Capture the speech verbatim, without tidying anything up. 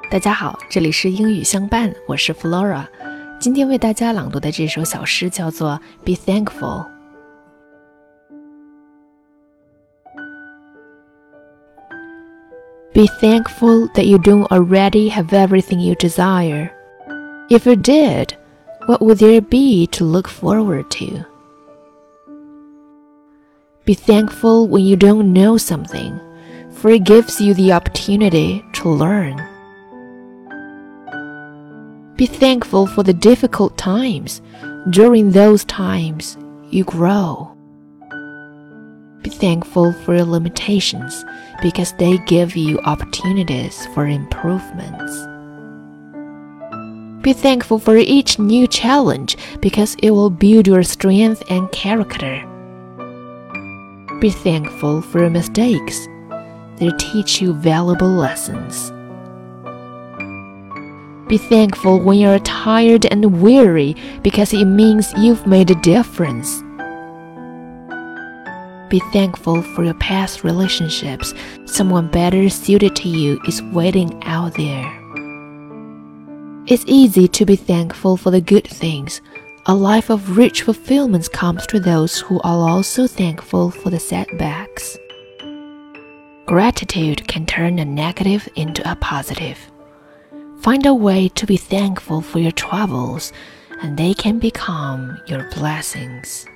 大家好，这里是英语相伴，我是 Flora。 今天为大家朗读的这首小诗叫做 Be Thankful。 Be thankful that you don't already have everything you desire. If you did, what would there be to look forward to? Be thankful when you don't know something, for it gives you the opportunity to learn.Be thankful for the difficult times. During those times, you grow. Be thankful for your limitations because they give you opportunities for improvements. Be thankful for each new challenge because it will build your strength and character. Be thankful for your mistakes. They teach you valuable lessons.Be thankful when you're tired and weary because it means you've made a difference. Be thankful for your past relationships. Someone better suited to you is waiting out there. It's easy to be thankful for the good things. A life of rich fulfillment comes to those who are also thankful for the setbacks. Gratitude can turn a negative into a positive.Find a way to be thankful for your troubles, and they can become your blessings.